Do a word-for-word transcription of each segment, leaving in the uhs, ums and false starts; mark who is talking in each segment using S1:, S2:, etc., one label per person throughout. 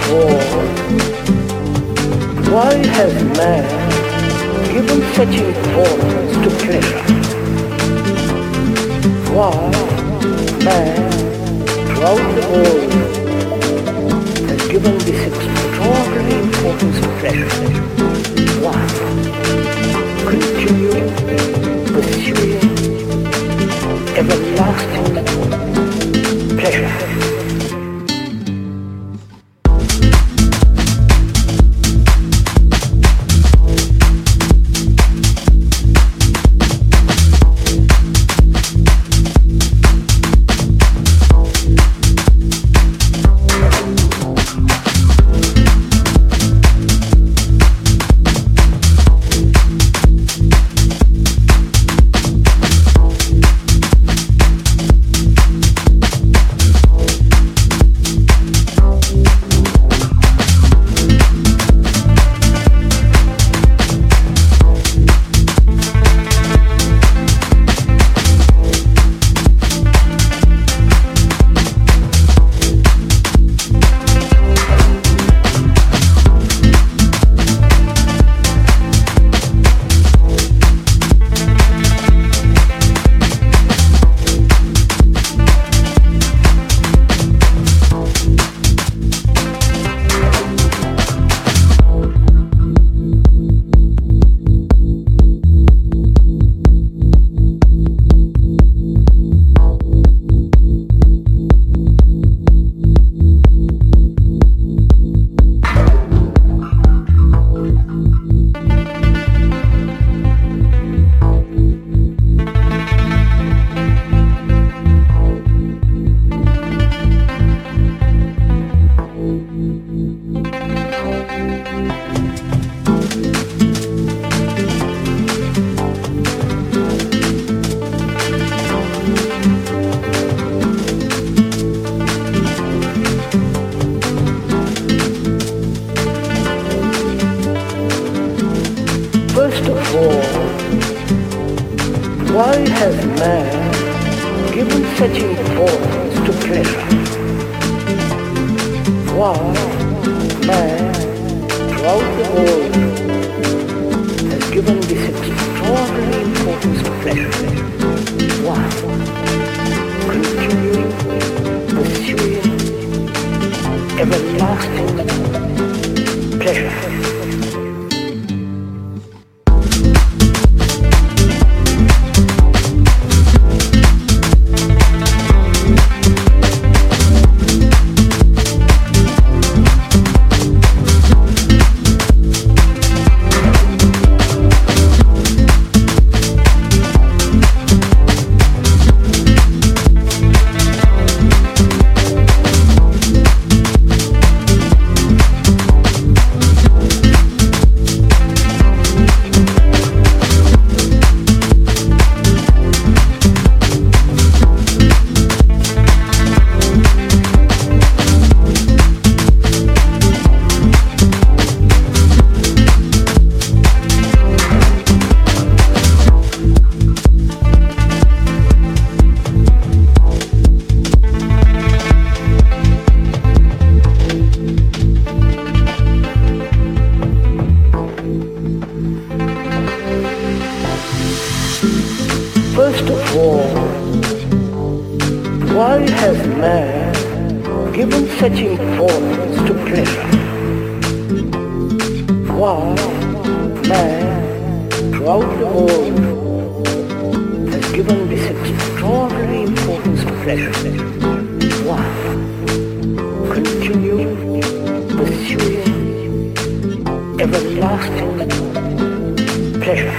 S1: all, why has man given such importance to pleasure? Why man throughout the world has given this extraordinary importance to pleasure? Why? Continuing, pursuing everlasting pleasure. First of all, why has man given such importance to pleasure? Why man throughout the world has given this extraordinary importance to pleasure? Why? Continuing, pursuing everlasting pleasure. First of all, why has man given such importance to pleasure? Why man throughout the world has given this extraordinary importance to pleasure? Why? Continuing, pursuing everlasting pleasure.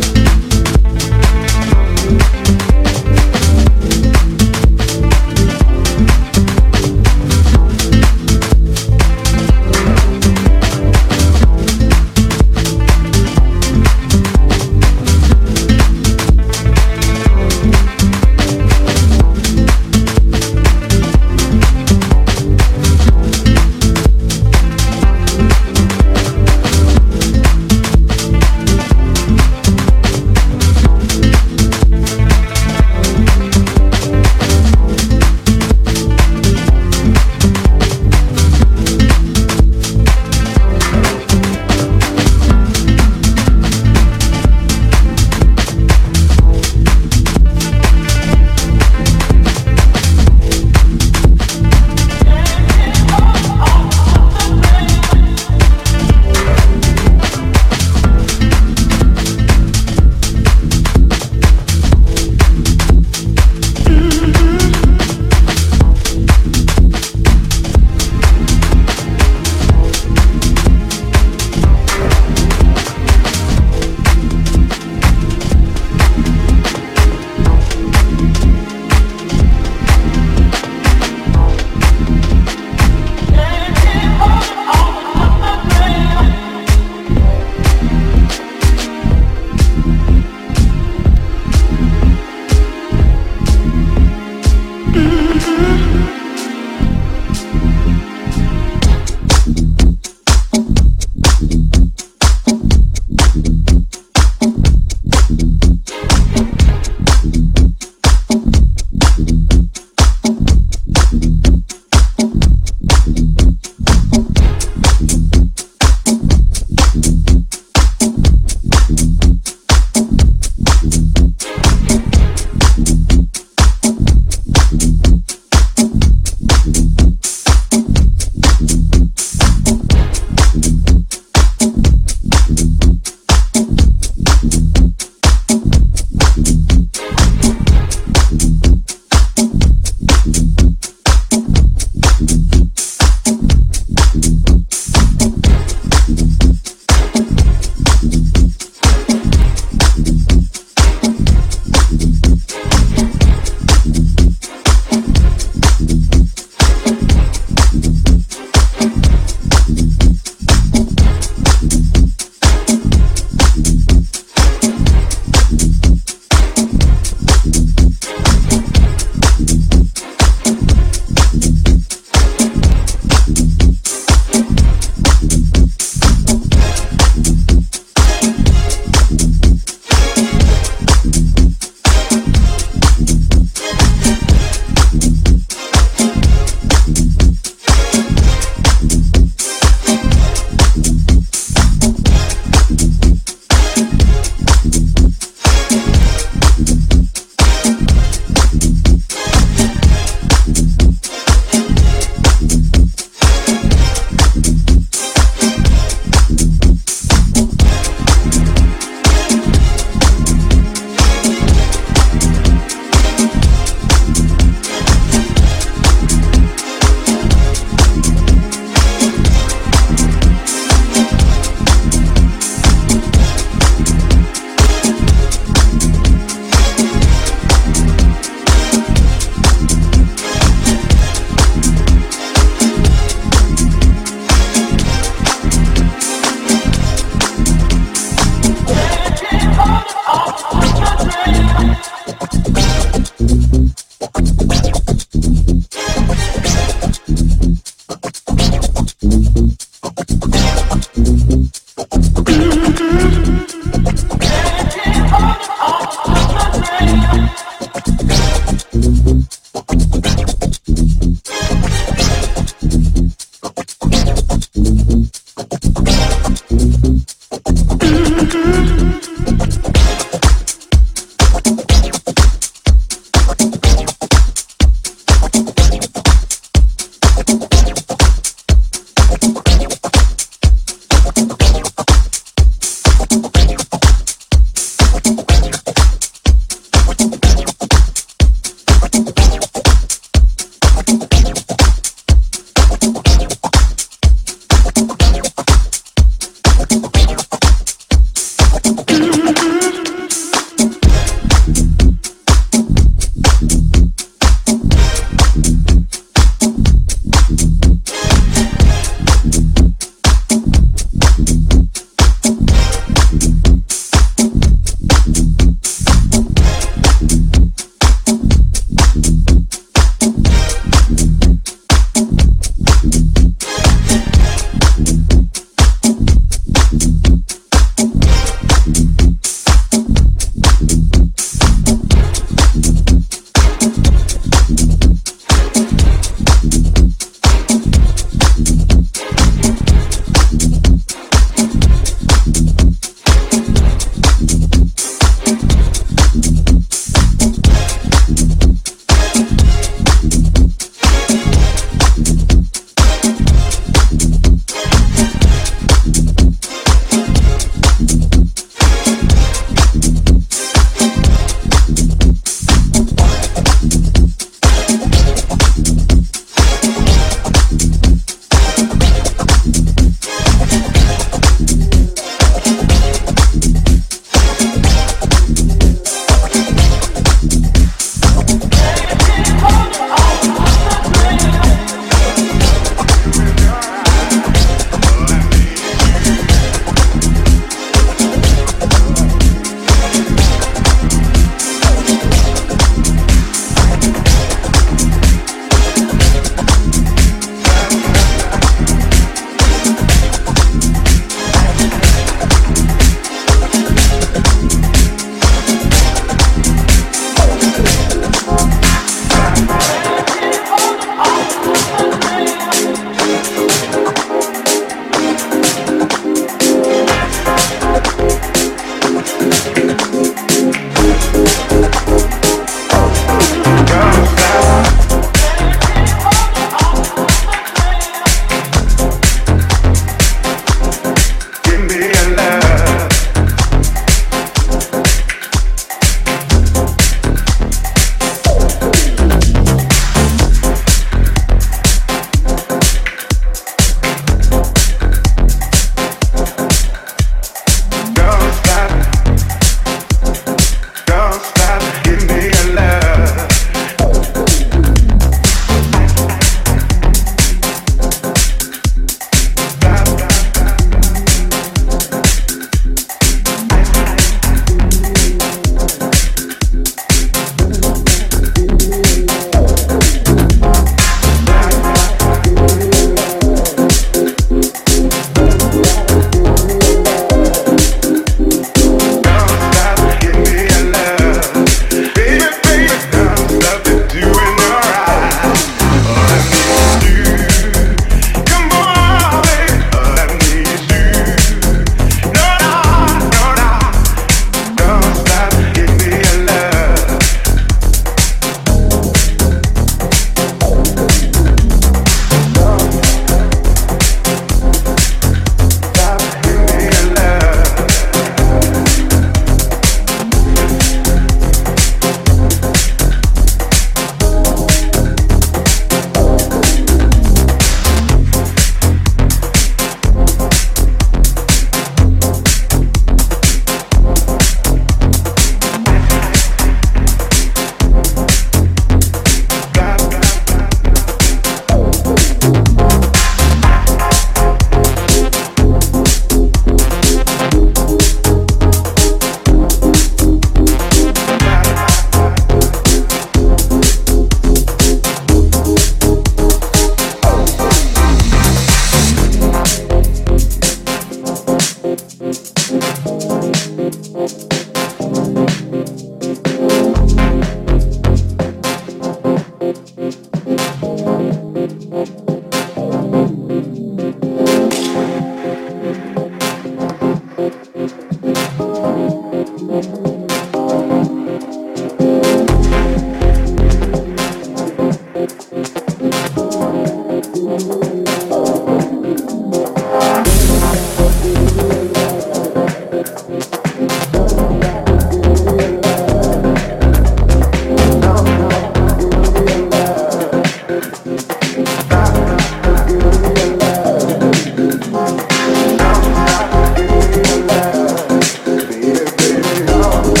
S2: Baby, baby,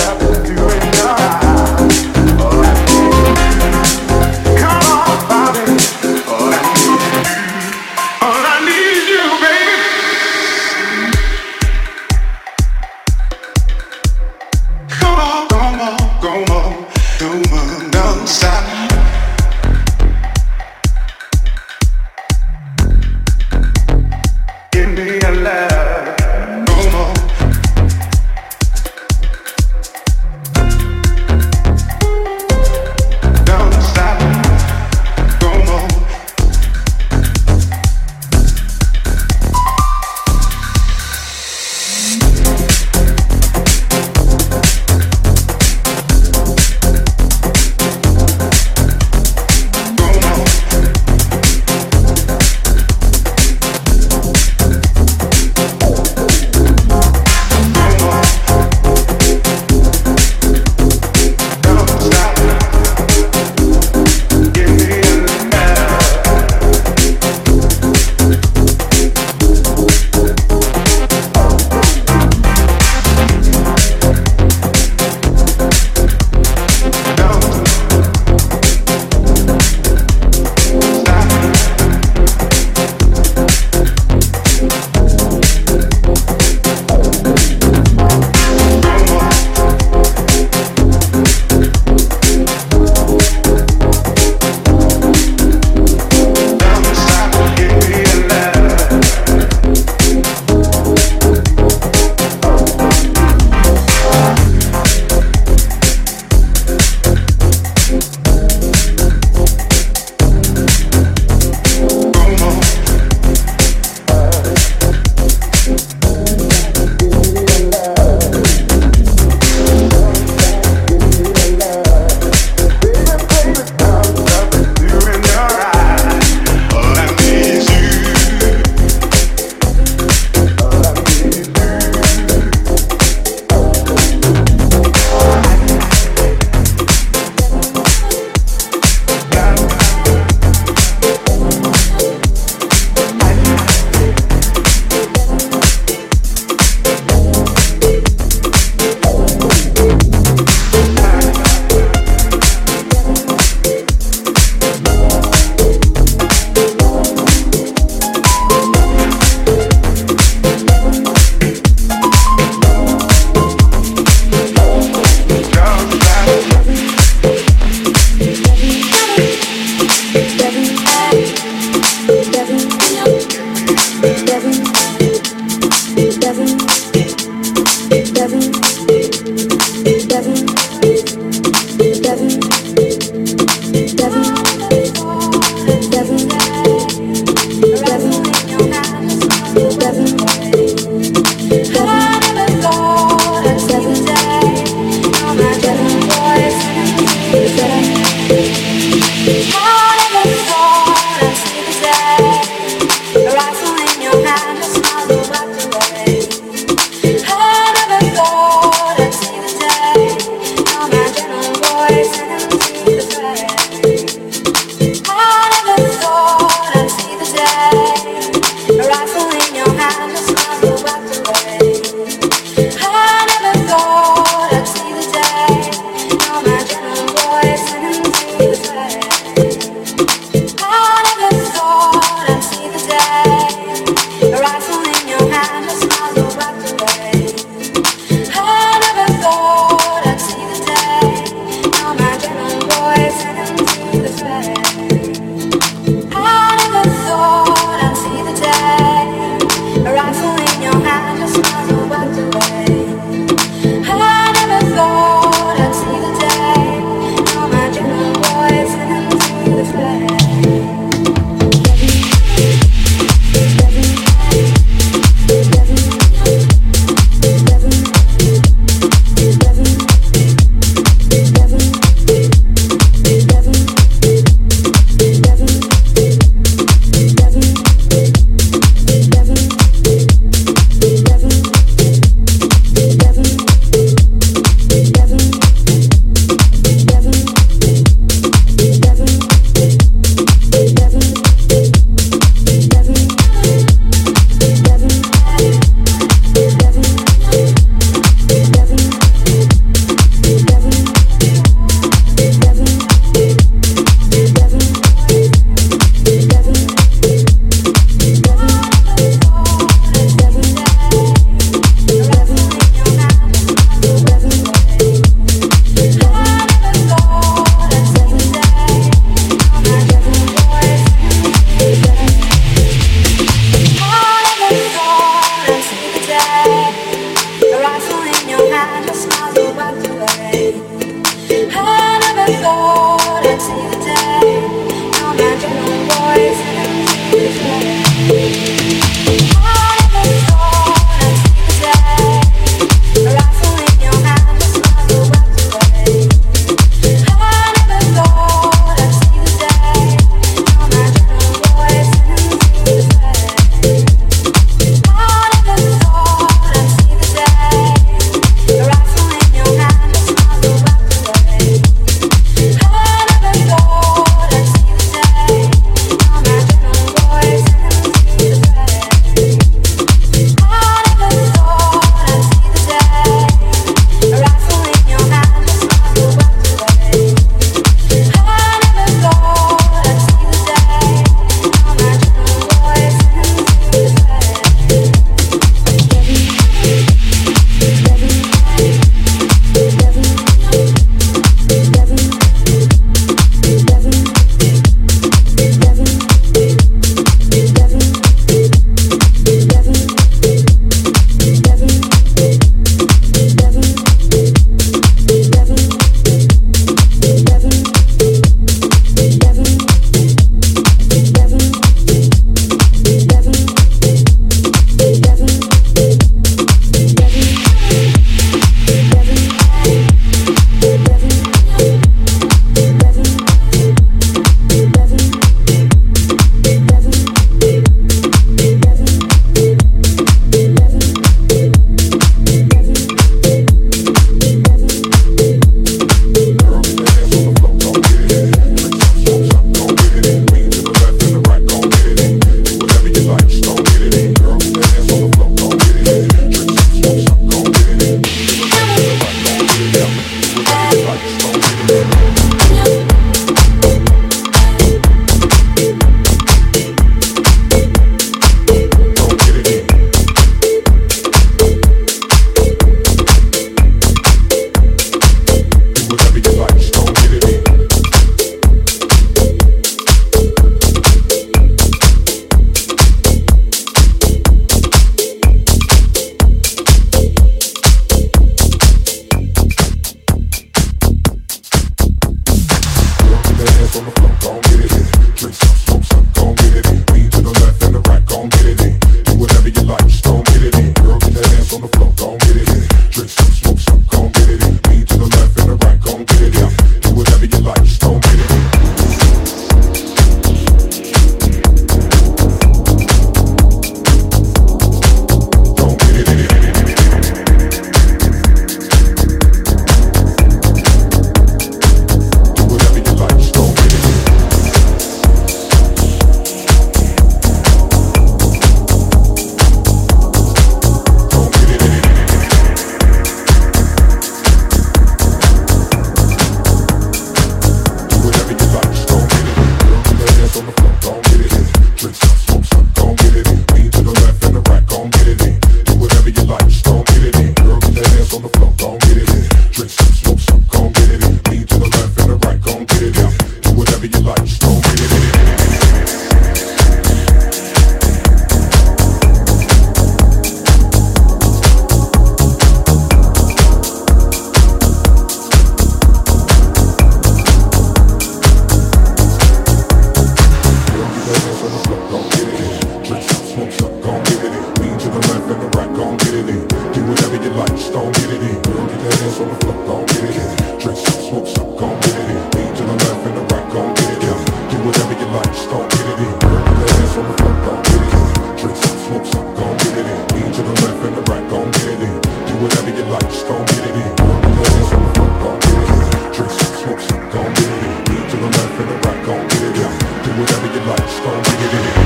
S2: gon' get it in. Drink some, smoke some, gon' get it in. Lean to the left and the right, gon' get it in. Do whatever you like, just gon' get it in. Girl, put that ass on the floor, gon' get it in. Drink some, smoke some, gon' get it in. Lean to the left and the right, gon' get it in. Do whatever you like, just gon' get it in. Girl, put that ass on the floor, gon' get it in. Drink some, smoke some, gon' get it in. Lean to the left and the right, gon' get it in. Do whatever you like, just gon' get it in.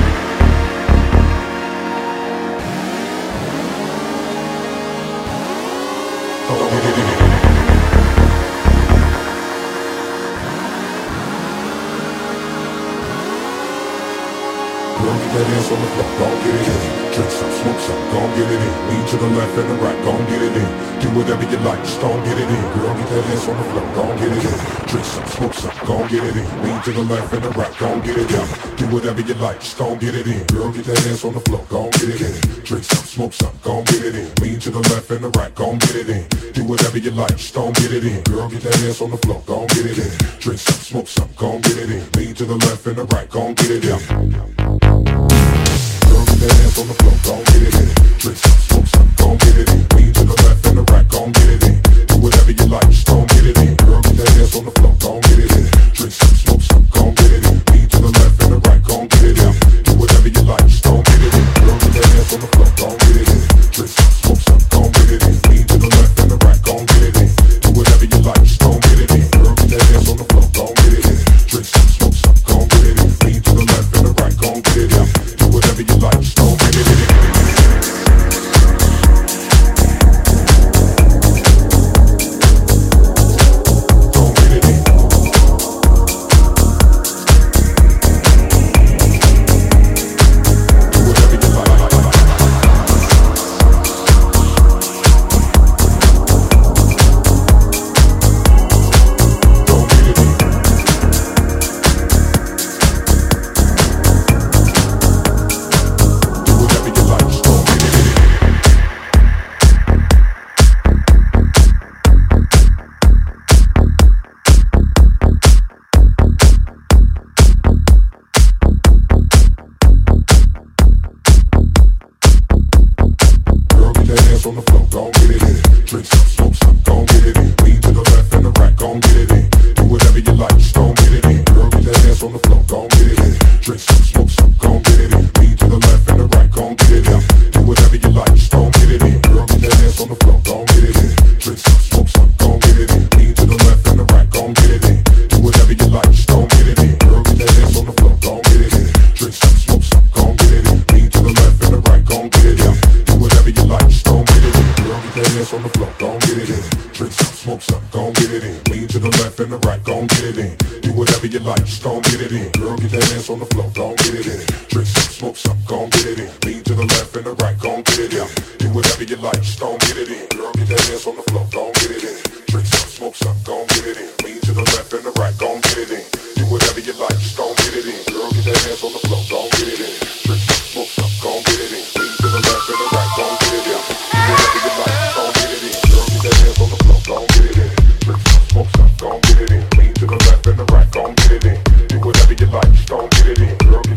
S2: Gon' get it in. Girl, get that ass on the floor, gon' get it in. Drink some, smoke some, gon' get it in. Lean to the left and the right, gon' get it in. Do whatever you like, just gon' get it in. Girl, get that ass on the floor, gon' get it in. Drink some, smoke some, gon' get it in. Lean to the left and the right, gon' get it in. Do whatever you like, just gon' get it in. Girl, get that ass on the floor, gon' get it in. Drink some, smoke some, gon' get it in. Lean to the left and the right, gon' get it in. Do whatever you like, just gon' get it in. Girl, get that ass on the floor, gon' get it in. Drink some, smoke some, gon' get it in. Lean to the left and the right, gon' get it in. Girl, get that ass on the floor, gon' get it in. Drink some, smoke some, gon' get it in. Lean to the left and the right, gon' get it in. Do whatever you like, just gon' get it in. Girl, get that ass on the floor, gon' get it in. Drink some, smoke some, gon' get it in. Lean to the left and the right, gon' get it in. Do whatever you like, just gon' get it in. Girl, get that ass on the floor, gon' get it in. Drink some, smoke some, gon' get it in. Lean to the left and the right, gon' get it in. Do whatever you like, just gon' get it in. Girl, get that ass on the floor, gon' get it in. Drink some, smoke some, gon' get it in. Lean to the left and the right, gon' get it in. Do whatever you like, just gon' get it in. On the floor, gon' get it in. Drink some, smoke some, gon' get it in. Lean to the left and the right, gon' get it in. Do whatever you like, just gon' get it in. Girl, get that ass on the floor, gon' get it in. Drink some, smoke some, gon' get it in. Lean to the left and the right, gon' get it in. Do whatever you like, just gon' get it in. Girl, get that ass on the floor, gon' get it in. Drink some, smoke some, gon' get it in. Lean to the left and the right, gon' get it in. Do whatever you like, just gon' get it in. Girl, get that ass on the floor, gon' get it in. Drink some, smoke some, gon' get it in. Lean to the left and the right, gon' get it in. Do whatever you like, just gon' get it in. Girl, get that ass on the floor, gon' get it in. Drink some, smoke some, gon' get it in. Lean to the left and the right, gon' get it in. Do whatever you like, just gon' get it in. Girl, get that ass on the floor, gon' get it in. Drink some, smoke some, gon' get it in. Lean to the left and the right, gon' get it in. Do whatever you like, just gon' get it in. Girl, get that ass on the floor, gon' get it in. Drink some, smoke some, gon' get it in. Lean to the left and the right, gon' get it in. Do whatever you like, just gon' get it in. Girl, get that ass on the floor, gon' get it in. Drink some, smoke some, gon' get it in. Lean to the left and the right, gon' get it in. Do whatever you like, just gon' get it in. Girl, get that ass on the floor, gon' get it in. Drink some, smoke some, gon' get it in. Lean to the left and the right, gon' get it in. Do whatever you like, just gon' get it in. Girl,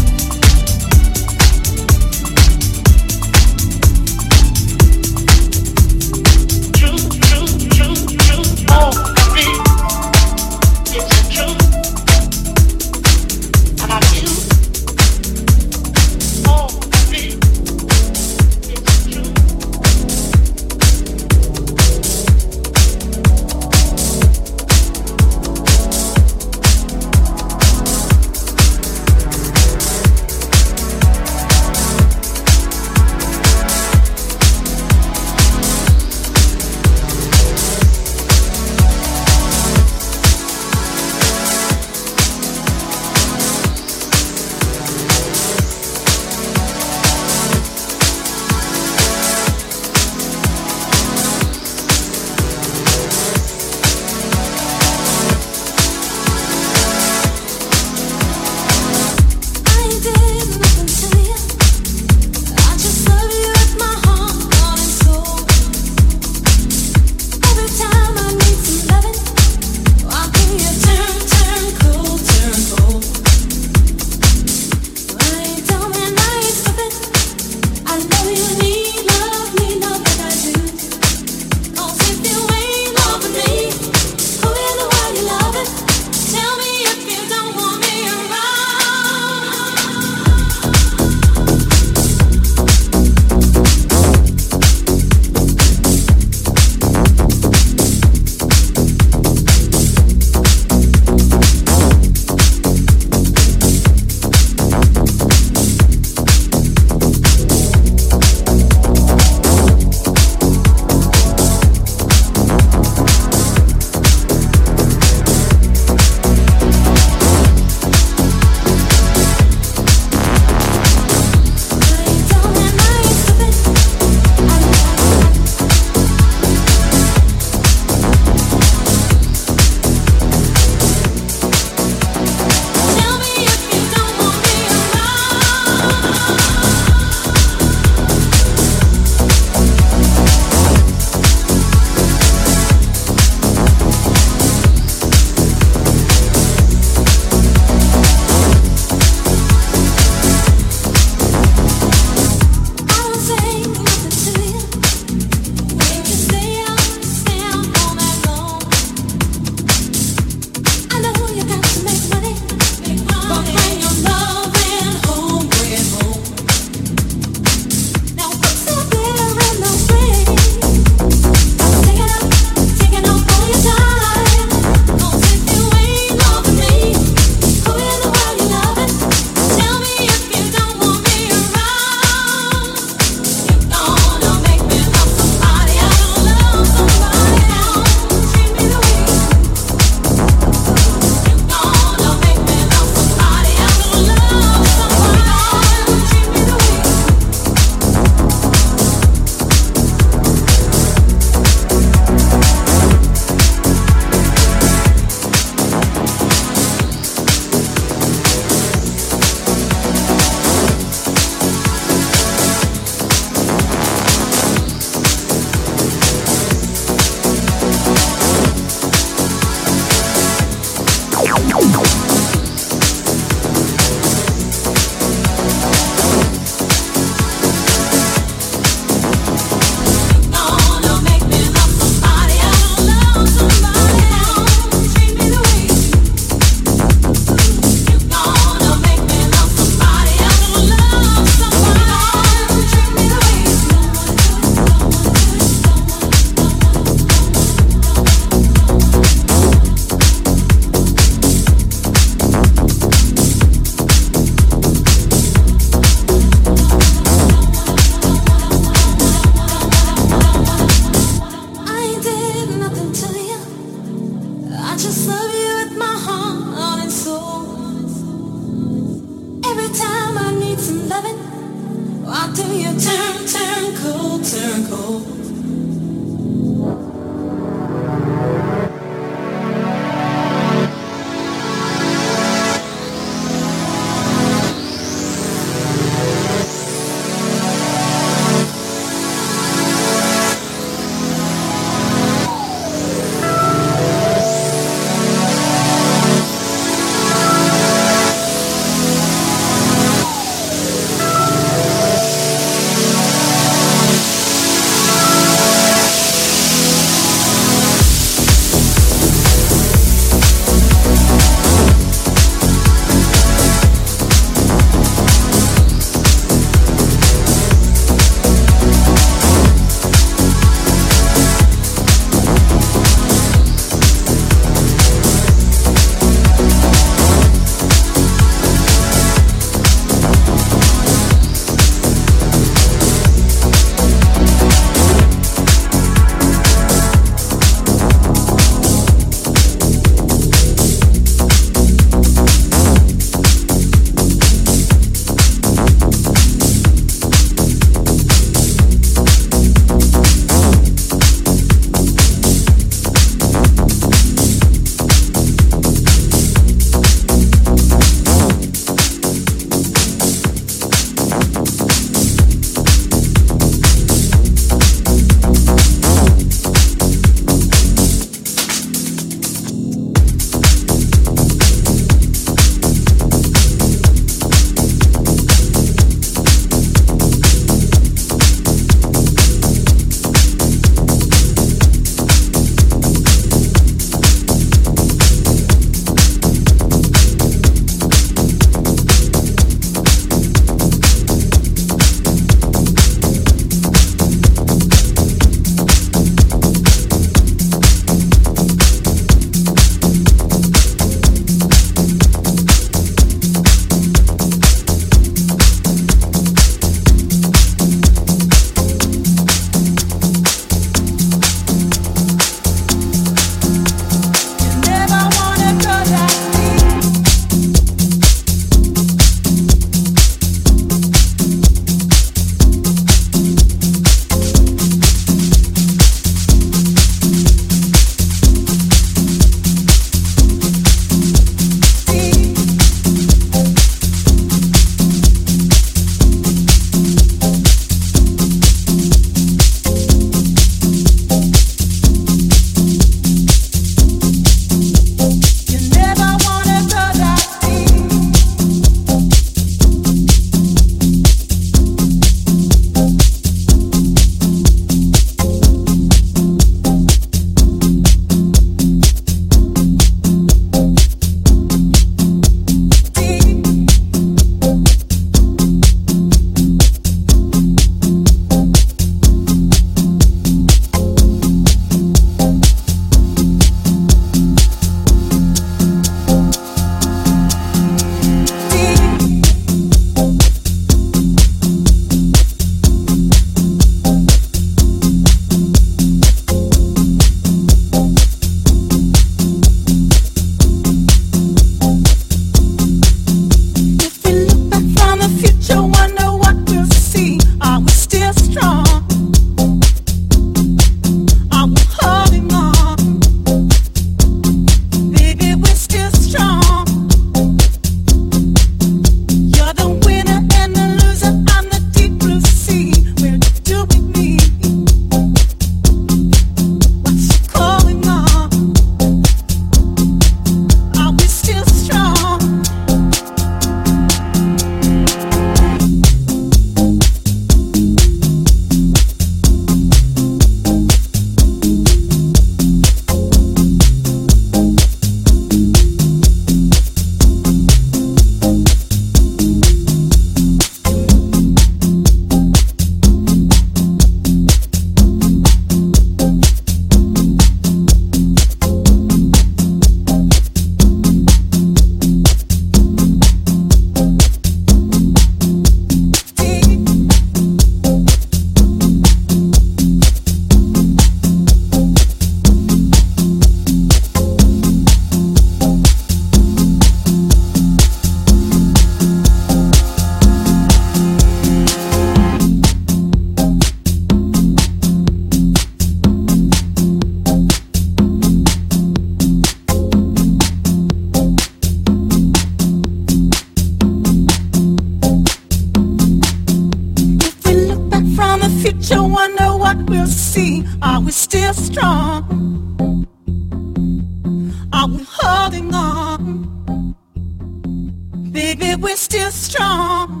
S3: future, wonder what we'll see. Are we still strong? Are we holding on? Baby, we're still strong.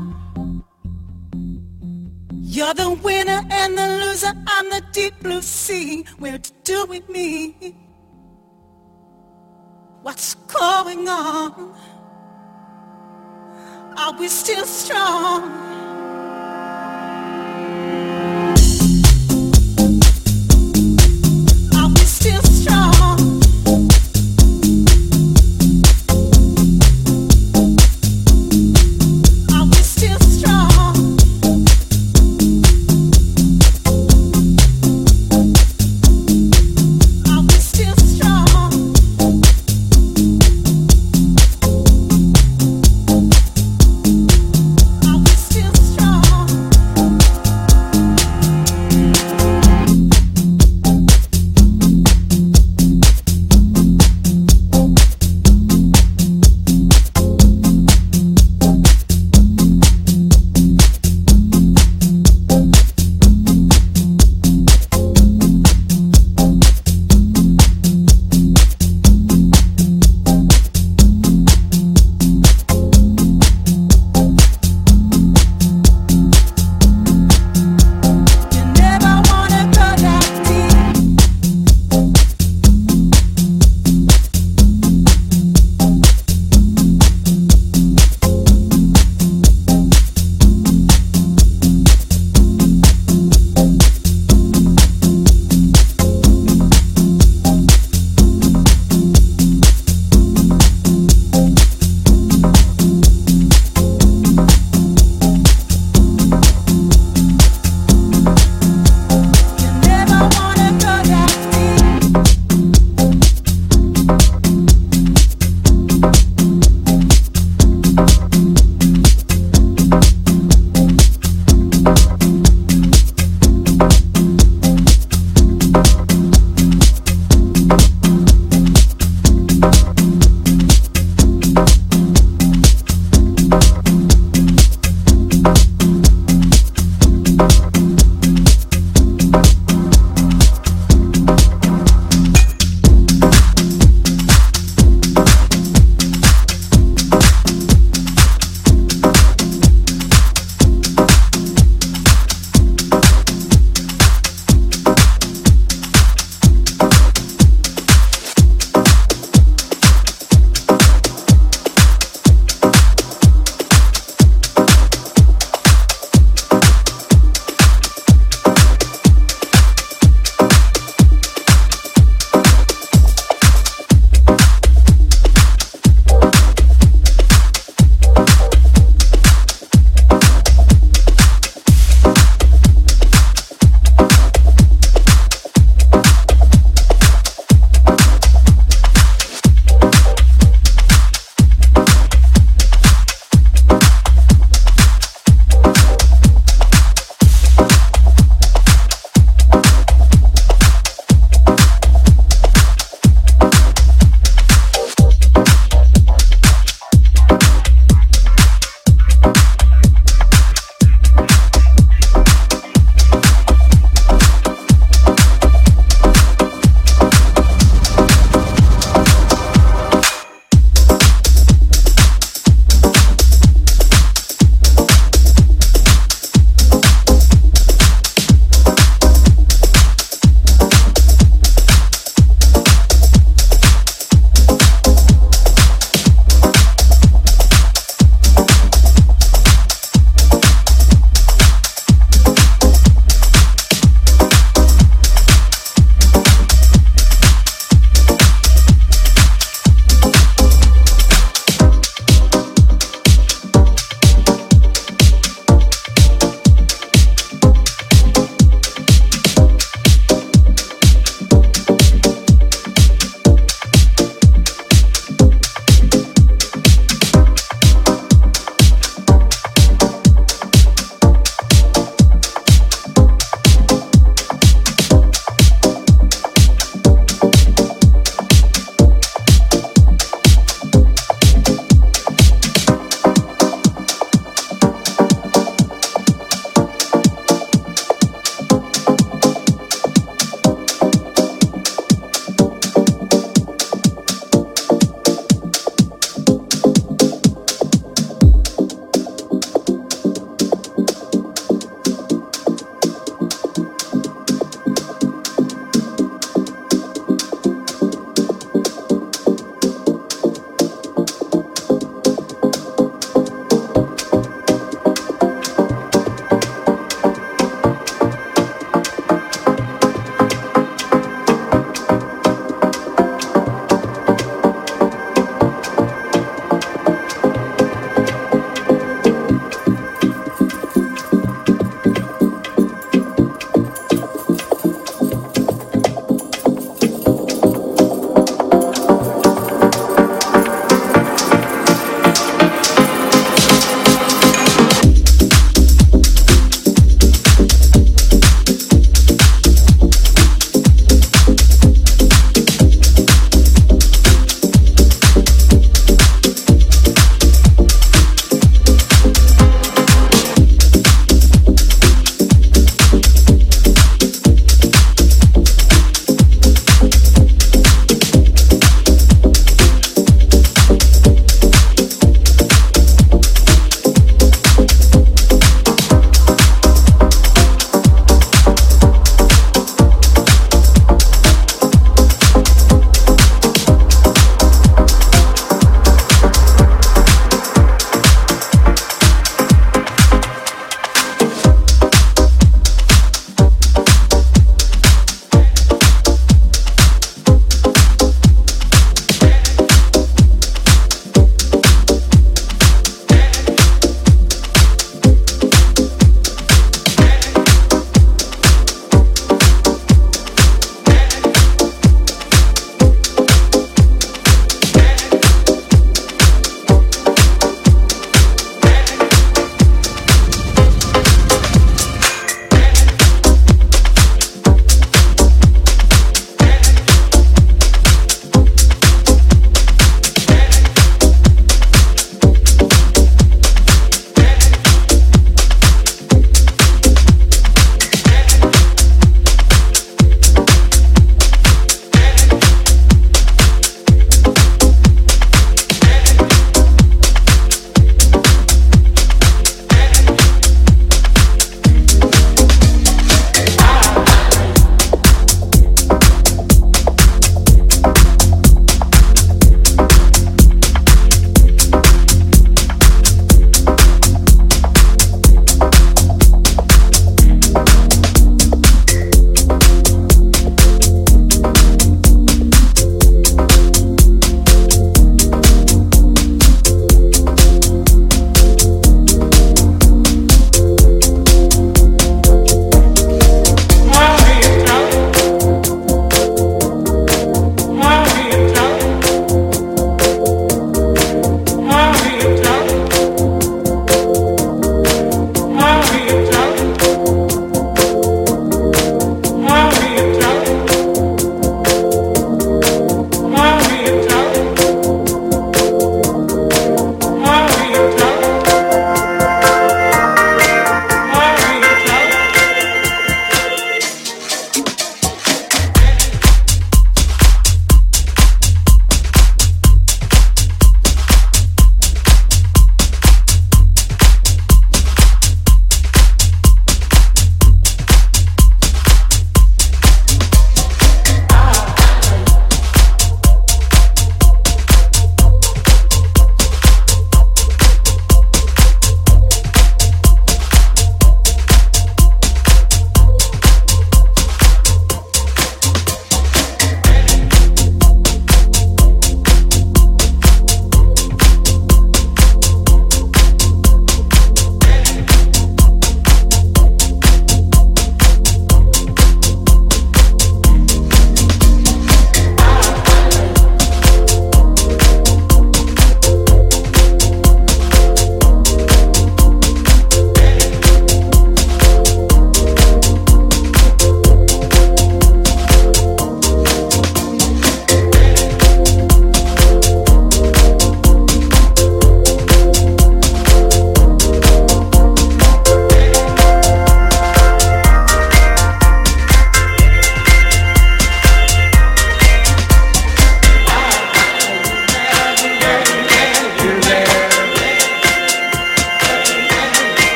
S3: You're the winner and the loser on the deep blue sea. Where to do with me? What's going on? Are we still strong?
S4: Still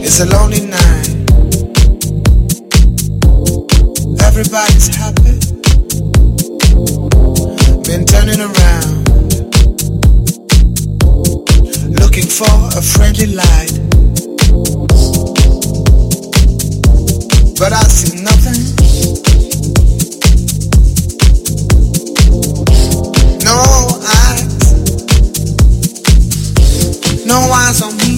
S4: It's a lonely night. Everybody's happy. Been turning around, looking for a friendly light, but I see nothing. No eyes, no eyes on me.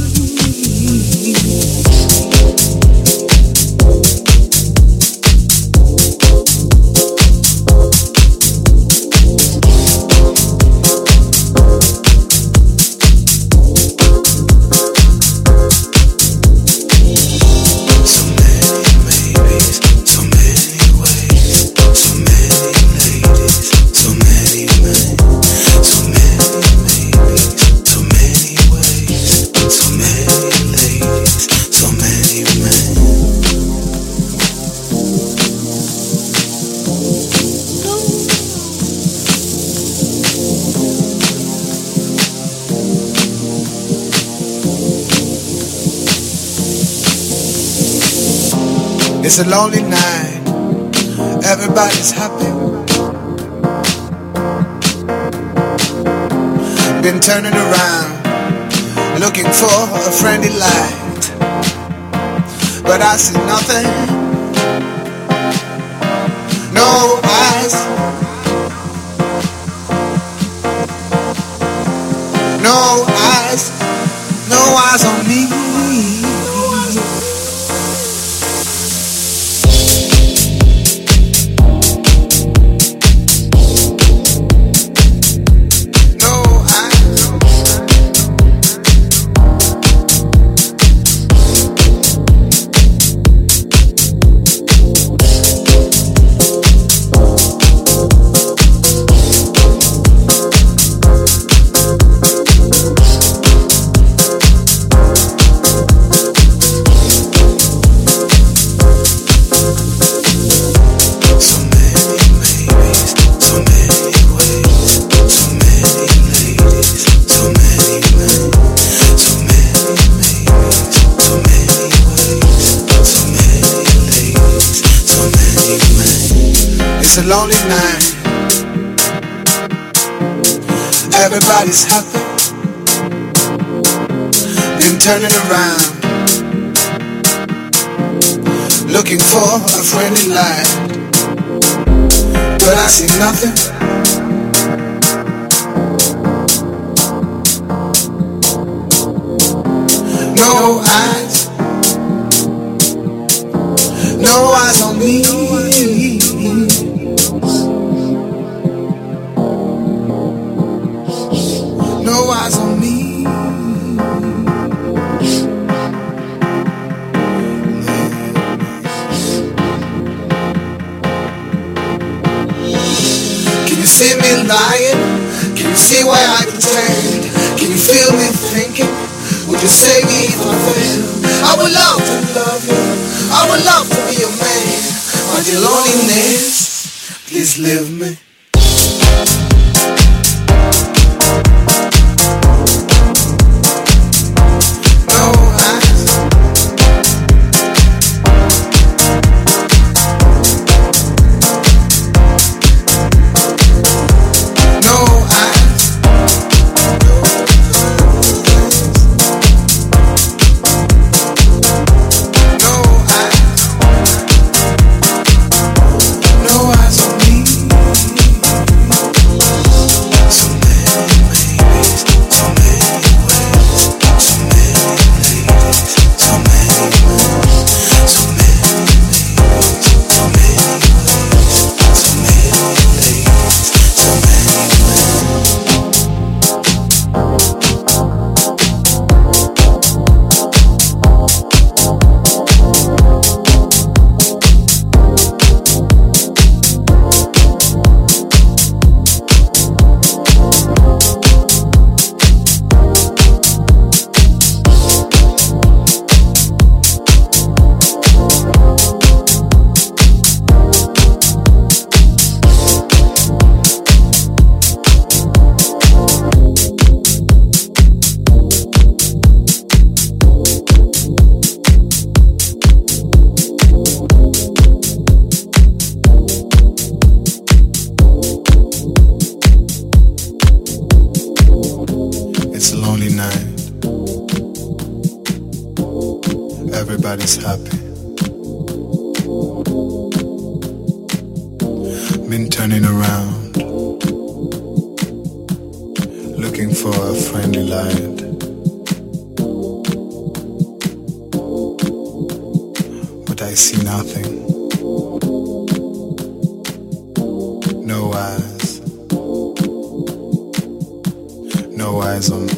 S4: It's a lonely night. Everybody's happy. Been turning around, looking for a friendly light, but I see nothing. No eyes, no eyes, no eyes on me. It's a lonely night. Everybody's happy. Been turning around, looking for a friendly light, but I see nothing. No eyes, no eyes on me. No eyes on me. Can you see me lying? Can you see where I can stand? Can you feel me thinking? Would you save me if I fail? I would love to love you. I would love to be your man. But your loneliness, please leave me. No eyes on me.
S5: everybody's happy. Been turning around, looking for a friendly light. But I see nothing. No eyes. No eyes on me.